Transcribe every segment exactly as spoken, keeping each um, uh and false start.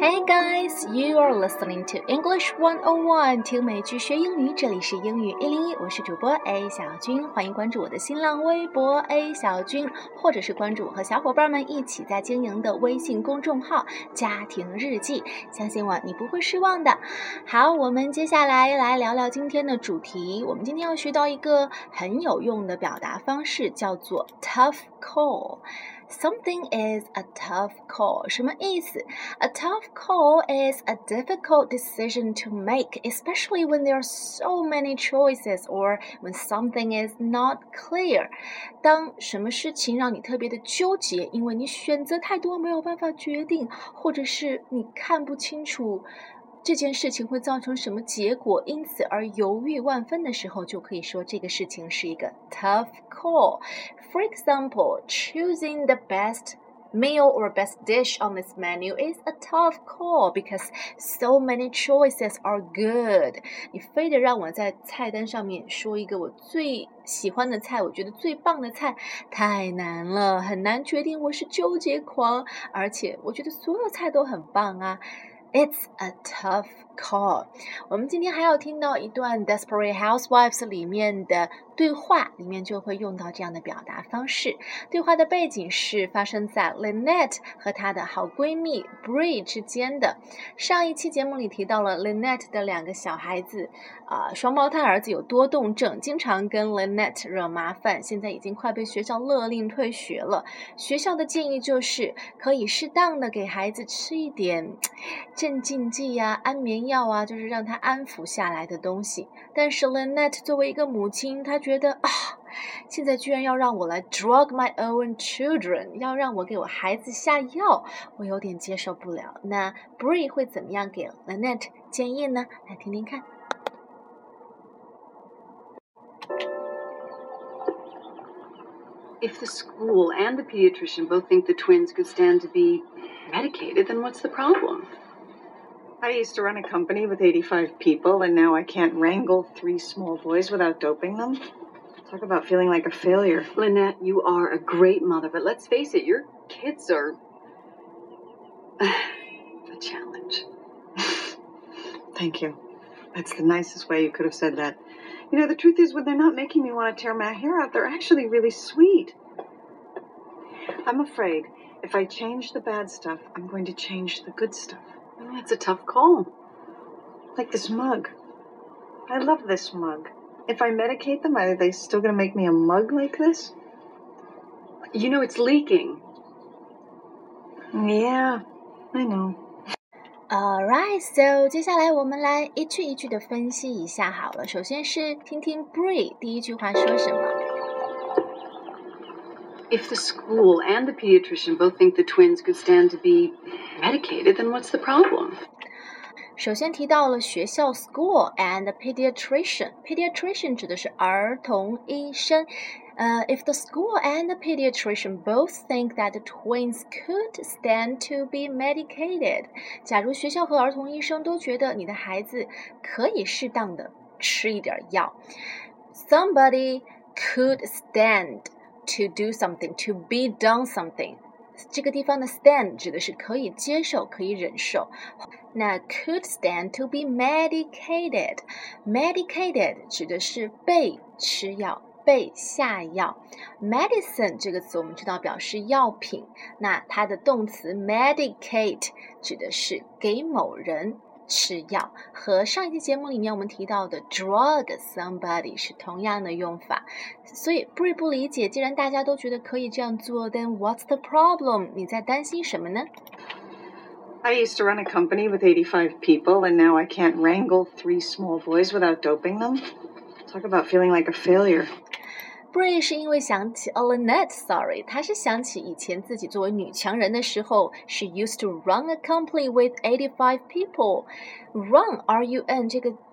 Hey guys, you are listening to English one oh one， 听美剧学英语，这里是英语一零一，我是主播 A 小军，欢迎关注我的新浪微博 A 小军，或者是关注我和小伙伴们一起在经营的微信公众号家庭日记，相信我，你不会失望的。好，我们接下来来聊聊今天的主题，我们今天要学到一个很有用的表达方式，叫做 tough call。Something is a tough call. 什么意思？ A tough call is a difficult decision to make, especially when there are so many choices or when something is not clear. 当什么事情让你特别的纠结，因为你选择太多没有办法决定，或者是你看不清楚这件事情会造成什么结果，因此而犹豫万分的时候，就可以说这个事情是一个 tough call. For example, choosing the best meal or best dish on this menu is a tough call because so many choices are good. 你非得让我在菜单上面说一个我最喜欢的菜，我觉得最棒的菜，太难了，很难决定，我是纠结狂，而且我觉得所有菜都很棒啊。It's a tough call. 我们今天还要听到一段 Desperate Housewives 里面的对话，里面就会用到这样的表达方式。对话的背景是发生在 Lynette 和她的好闺蜜 Bree 之间的。上一期节目里提到了 Lynette 的两个小孩子，呃，双胞胎儿子有多动症，经常跟 Lynette 惹麻烦，现在已经快被学校勒令退学了。学校的建议就是可以适当的给孩子吃一点镇静剂呀、安眠药啊，就是让他安抚下来的东西。但是 Lynette 作为一个母亲，她觉得啊，现在居然要让我来 drug my own children， 要让我给我孩子下药，我有点接受不了。那 Bree 会怎么样给 Lynette 建议呢？来听听看。 If the school and the pediatrician both think the twins could stand to be medicated, then what's the problem? I used to run a company with eighty-five people, and now I can't wrangle three small boys without doping them. Talk about feeling like a failure. Lynette, you are a great mother, but let's face it, your kids are a challenge. Thank you. That's the nicest way you could have said that. You know, the truth is, when they're not making me want to tear my hair out, they're actually really sweet. I'm afraid if I change the bad stuff, I'm going to change the good stuff. That's a tough call. Like this mug. I love this mug. If I medicate them, are they still going to make me a mug like this? You know, it's leaking. Yeah, I know.Alright, so 接下来我们来一句一句的分析一下好了。首先是听听 Bree 第一句话说什么。 If the school and the pediatrician both think the twins could stand to be medicated, then what's the problem? 首先提到了学校 school and pediatrician. Pediatrician 指的是儿童医生。Uh, if the school and the pediatrician both think that the twins could stand to be medicated, 假如学校和儿童医生都觉得你的孩子可以适当的吃一点药 somebody could stand to do something, to be done something. 这个地方的 stand 指的是可以接受，可以忍受。那 could stand to be medicated. Medicated 指的是被吃药，被下药。Medicine 这个词我们知道表示药品，那它的动词 medicate 指的是给某人吃药，和上一期节目里面我们提到的 drug somebody 是同样的用法。所以 Bree 不理解，既然大家都觉得可以这样做， then what's the problem？ 你在担心什么呢？ I used to run a company with eighty-five people, and now I can't wrangle three small boys without doping them. Talk about feeling like a failure. Bree 是因为想起 oh, Lynette, sorry, 她是想起以前自己作为女强人的时候 she used to run a company with eighty-five people. Run, R U N 这个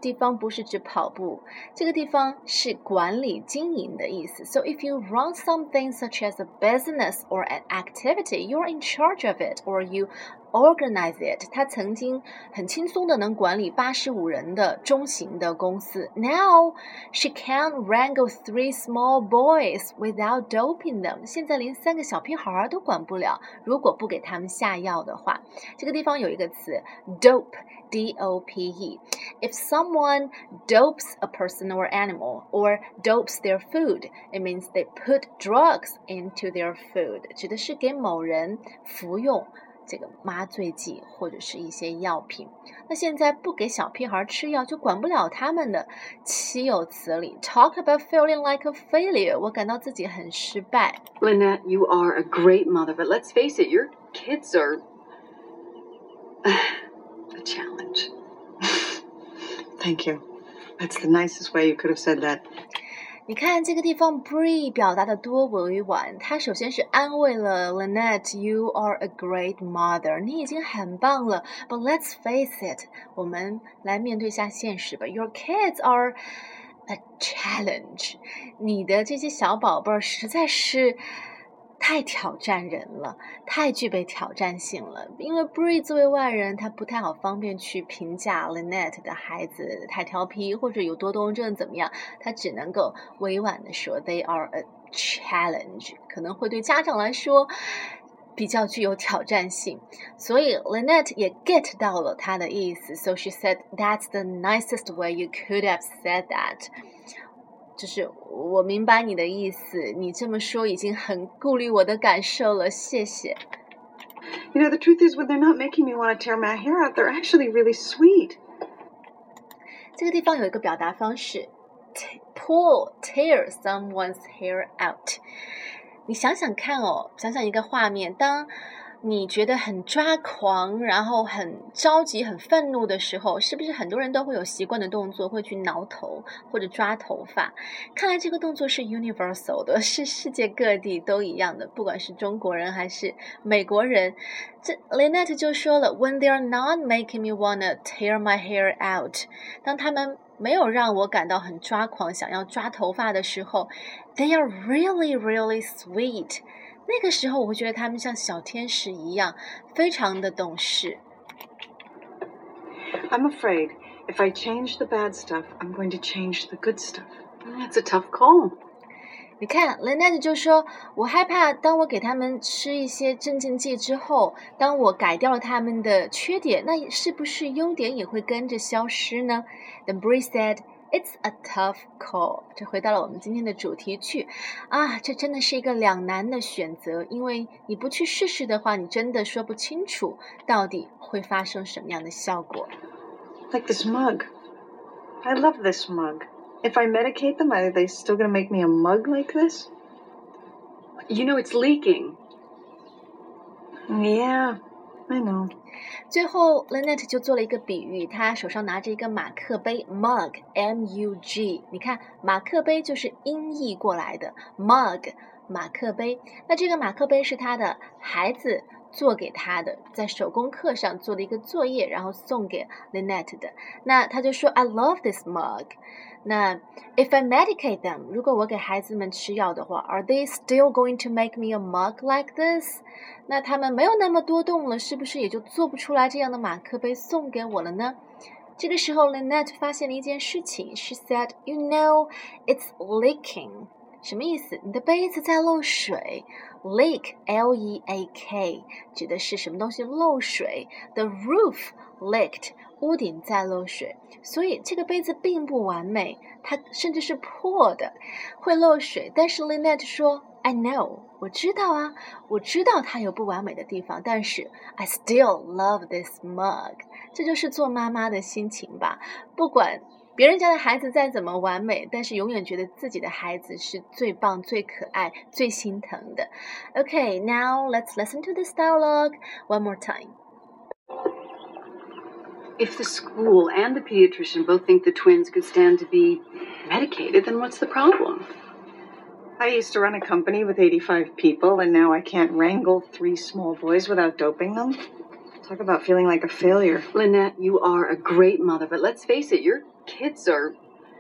地方不是指跑步，这个地方是管理经营的意思。So if you run something such as a business or an activity, you're in charge of it or you organize it. 他曾经很轻松的能管理八十五人的中型的公司。Now she can't wrangle three small boys without doping them. 现在连三个小屁孩都管不了，如果不给他们下药的话。这个地方有一个词 dope, D O P E. If someone dopes a person or animal or dopes their food, it means they put drugs into their food. 指的是给某人服用这个麻醉剂或者是一些药品。那现在不给小屁孩吃药就管不了他们的，岂有此理。 Talk about feeling like a failure. 我感到自己很失败。 Lynette, you are a great mother, but let's face it, your kids are a challenge. Thank you. That's the nicest way you could have said that. 你看这个地方 Bree 表达的多委婉，他首先是安慰了 Lynette, you are a great mother. 你已经很棒了 But let's face it, 我们来面对一下现实吧 Your kids are a challenge. 你的这些小宝贝儿实在是太挑战人了，太具备挑战性了。因为 Bree 作为外人，他不太好方便去评价 Lynette 的孩子太调皮或者有多动症怎么样，他只能够委婉地说 They are a challenge， 可能会对家长来说比较具有挑战性。所以 Lynette 也 get 到了他的意思 So she said, That's the nicest way you could have said that。就是我明白你的意思，你这么说已经很顾虑我的感受了，谢谢。 You know, the truth is, when they're not making me want to tear my hair out, they're actually really sweet. 这个地方有一个表达方式 pull, tear someone's hair out。 你想想看哦，想想一个画面，当你觉得很抓狂，然后很着急很愤怒的时候，是不是很多人都会有习惯的动作，会去挠头或者抓头发？看来这个动作是 universal 的，是世界各地都一样的，不管是中国人还是美国人。这 Lynette 就说了 When they are not making me wanna tear my hair out， 当他们没有让我感到很抓狂想要抓头发的时候， They are really really sweet。那个时候我会觉得他们像小天使一样，非常的懂事。 I'm afraid if I change the bad stuff, I'm going to change the good stuff. That's a tough call. 你看 Lynette 就说，我害怕当我给他们吃一些镇静剂之后，当我改掉了他们的缺点，那是不是优点也会跟着消失呢？ Then Bree said, It's a tough call. 这回到了我们今天的主题曲啊，这真的是一个两难的选择，因为你不去试试的话，你真的说不清楚到底会发生什么样的效果。 Like this mug. I love this mug. If I medicate them, are they still going to make me a mug like this? You know, it's leaking. Yeah, I know. 最后 Lynette 就做了一个比喻，她手上拿着一个马克杯 mug M U G， 你看马克杯就是音译过来的 mug 马克杯，那这个马克杯是她的孩子做给她的，在手工课上做的一个作业，然后送给 Lynette 的。那她就说 I love this mug。 那 if I medicate them， 如果我给孩子们吃药的话， Are they still going to make me a mug like this？ 那他们没有那么多动了，是不是也就做不出来这样的马克杯送给我了呢？这个时候 Lynette 发现了一件事情 She said, You know, it's leaking。 什么意思？你的杯子在漏水。 Leak, L E A K 指的是什么东西漏水。 The roof leaked， 屋顶在漏水，所以这个杯子并不完美，它甚至是破的，会漏水。但是 Lynette 说 I know， 我知道啊，我知道它有不完美的地方，但是 I still love this mug。 这就是做妈妈的心情吧，不管别人家的孩子再怎么完美，但是永远觉得自己的孩子是最棒、最可爱、最心疼的。 Okay, now let's listen to this dialogue one more time. If the school and the pediatrician both think the twins could stand to be medicated, then what's the problem? I used to run a company with eighty-five people, and now I can't wrangle three small boys without doping them. Talk about feeling like a failure. Lynette, you are a great mother, but let's face it, your kids are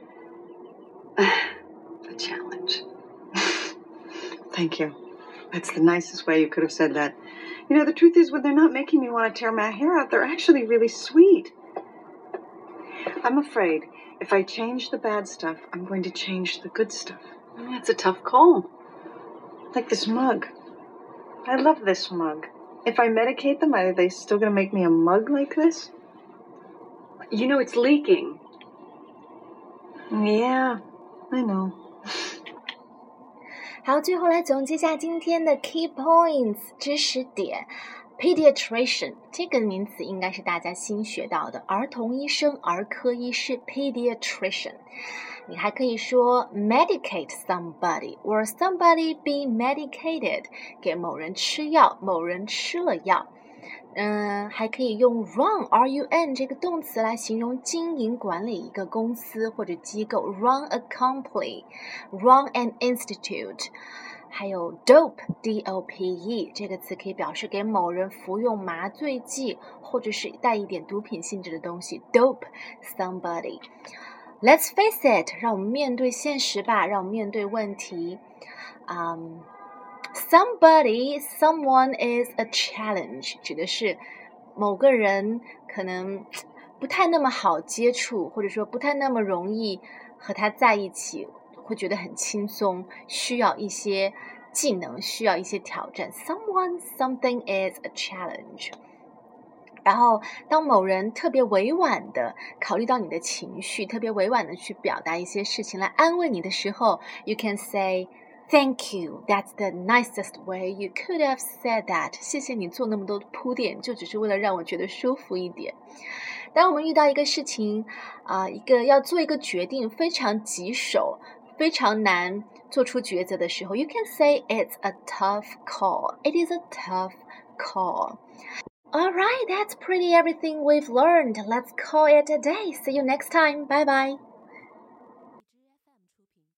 a challenge. Thank you. That's the nicest way you could have said that. You know, the truth is, when they're not making me want to tear my hair out, they're actually really sweet. I'm afraid if I change the bad stuff, I'm going to change the good stuff. That's a tough call. Like this mug. I love this mug. If I medicate them, are they still going to make me a mug like this? You know, it's leaking. Yeah, I know. 好，最后来总结一下今天的 key points 知识点。Pediatrician 这个名词应该是大家新学到的，儿童医生、儿科医师 pediatrician。你还可以说 medicate somebody or somebody be medicated， 给某人吃药，某人吃了药。嗯，还可以用 run R U N 这个动词来形容经营管理一个公司或者机构 run a company run an institute。 还有 dope D O P E 这个词可以表示给某人服用麻醉剂或者是带一点毒品性质的东西 dope somebody。 Let's face it， 让我们面对现实吧，让我们面对问题。um, Somebody, someone is a challenge 指的是某个人可能不太那么好接触，或者说不太那么容易和他在一起，会觉得很轻松，需要一些技能，需要一些挑战。 Someone, something is a challenge。 然后当某人特别委婉的考虑到你的情绪，特别委婉的去表达一些事情来安慰你的时候， You can say Thank you, that's the nicest way you could have said that。 谢谢你做那么多铺垫，就只是为了让我觉得舒服一点。当我们遇到一个事情啊、呃，一个要做一个决定非常棘手，非常难做出抉择的时候， You can say it's a tough call. It is a tough call. Alright, that's pretty everything we've learned. Let's call it a day. See you next time. Bye bye.